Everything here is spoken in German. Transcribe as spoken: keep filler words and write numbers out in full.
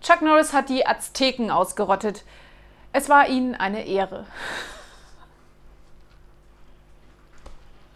Chuck Norris hat die Azteken ausgerottet. Es war ihnen eine Ehre.